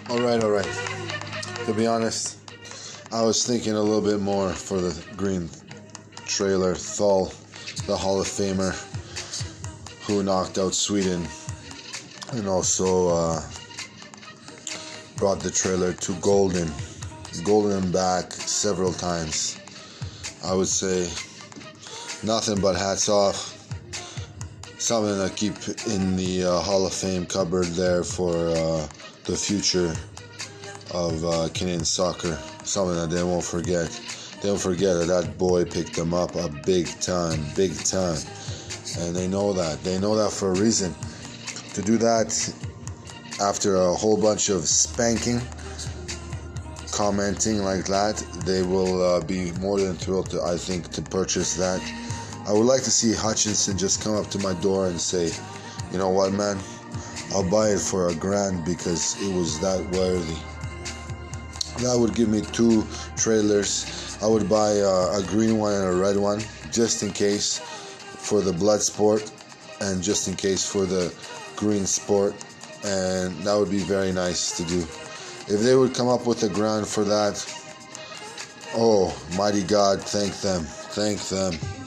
Alright. To be honest, I was thinking a little bit more for the green trailer. Thal, the Hall of Famer, who knocked out Sweden and also brought the trailer to golden back several times. I would say nothing but hats off. Something to keep in the Hall of Fame cupboard there for the future of Canadian soccer. Something that they won't forget. They won't forget that boy picked them up a big time. And they know that. They know that for a reason. To do that after a whole bunch of spanking, commenting like that, they will be more than thrilled to, I think, to purchase that. I would like to see Hutchinson just come up to my door and say, you know what, man, I'll buy it for $1,000 because it was that worthy. That would give me 2 trailers. I would buy a green one and a red one just in case for the blood sport and just in case for the green sport, and that would be very nice to do. If they would come up with $1,000 for that, oh mighty God, thank them.